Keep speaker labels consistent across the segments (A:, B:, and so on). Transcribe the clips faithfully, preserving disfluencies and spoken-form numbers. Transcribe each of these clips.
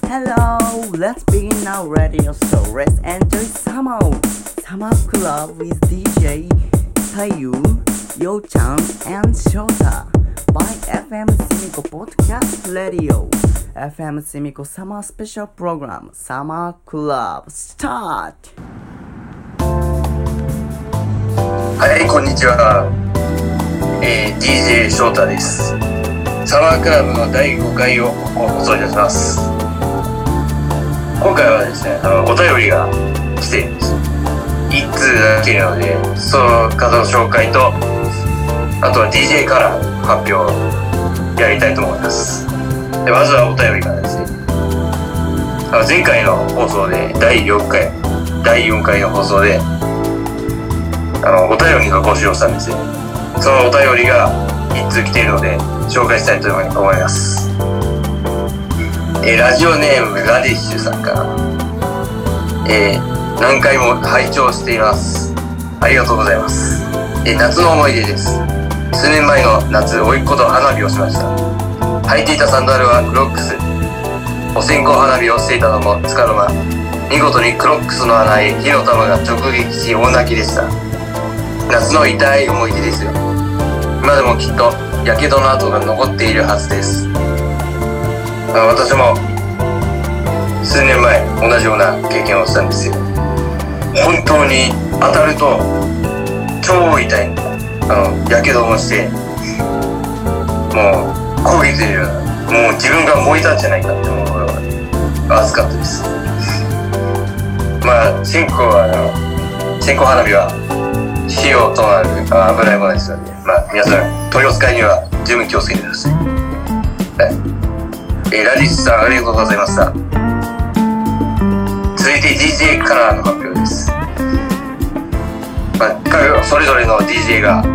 A: Hello, let's begin our radio show. Let's enjoy summer. Summer Club with ディージェー Tayu, Yo-chan and Shota by エフエム Simiko Podcast Radio. エフエム Simiko Summer Special Program Summer Club Start.
B: はい、こんにちは。えー、ディージェー 翔太です。サマークラブのだいごかいを放送いたします。今回はですね、あのお便りが来ているんです。一通だけなので、その方の紹介と、あとは ディージェー カラーの発表をやりたいと思います。でまずはお便りからですね。あの前回の放送でだいよんかい、だいよんかいの放送で、あのお便りが募集をしたんですよ。そのお便りが一通来ているので紹介したいと思います。えー、ラジオネームラディッシュさんから、えー、何回も拝聴しています。ありがとうございます。えー、夏の思い出です。数年前の夏、甥っ子と花火をしました。履いていたサンダルはクロックス。お線香花火をしていたのもつかの間、見事にクロックスの穴へ火の玉が直撃し大泣きでした。夏の痛い思い出ですよ。今でもきっとやけどの跡が残っているはずです。私も数年前同じような経験をしたんですよ。本当に当たると超痛いんだ。あのやけどもしてもう焦げてるような、もう自分が燃えたんじゃないかって思うほど熱かったです。まあ線香はあの線香花火は火をとなる危ないものですので、まあ皆さん取り扱いには十分気をつけてください。はい、えー、ラディッシュさんありがとうございました。続いて ディージェー カラーの発表です。まあ、彼はそれぞれの ディージェー が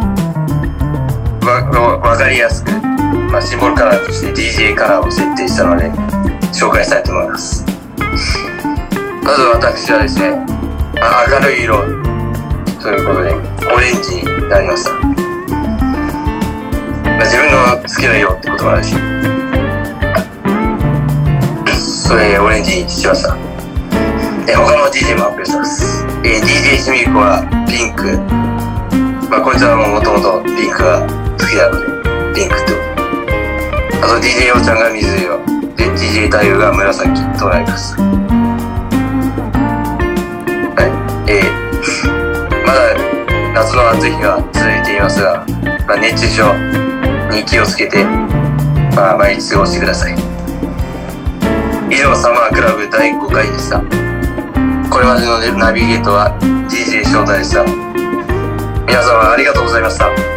B: わ分かりやすく、まあ、シンボルカラーとして ディージェー カラーを設定したので紹介したいと思います。まず私はですね、明るい色ということでオレンジになりました。まあ、自分の好きな色ってこともあるし、それオレンジにしました。え他の ディージェー も発表します。え ディージェー シミコはピンク、まあ、こいつはもともとピンクが好きなのでピンクと、あと ディージェー ようちゃんが水色で ディージェー 太陽が紫となります。はい、えー、まだ夏の暑い日が続いていますが、まあ、熱中症に気をつけて、まあ、毎日過ごしてください。以上サマークラブだいごかいでした。これまでのナビゲートは ディージェー 翔太でした。皆様ありがとうございました。